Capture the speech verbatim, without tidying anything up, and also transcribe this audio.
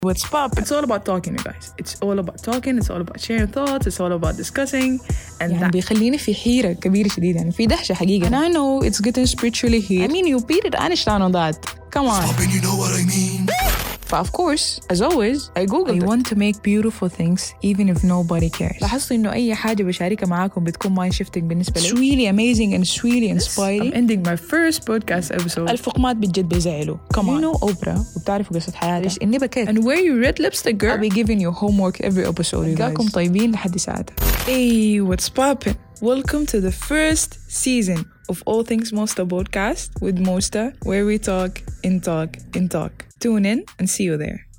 What's pop? It's all about talking, you guys. It's all about talking. It's all about sharing thoughts. It's all about discussing. And يعني that بيخليني في حيرة كبيرة شديدة يعني في دهشة حقيقة. And I know it's getting spiritually here. I mean you beat it Einstein on that. Come on. Stop and you know what I mean. But of course, as always, I googled I it. want to make beautiful things even if nobody cares. لاحظت إنه أي حاجة بشاركها معاكم بتكون mind shifting بالنسبة لي. It's really amazing and it's really inspiring. I'm ending my first podcast episode. الفقمات بجد بيزعلوا. Come on. You know Oprah وبتعرفوا قصة حياتها. ليش إني بكيت. And wear your red lipstick, girl. I'll be giving you homework every episode, you guys. جاكم طيبين لحد ساعتها. Hey, what's poppin'? Welcome to the first season of All Things Mosta podcast with Mosta, where we talk in talk in talk. Tune in and see you there.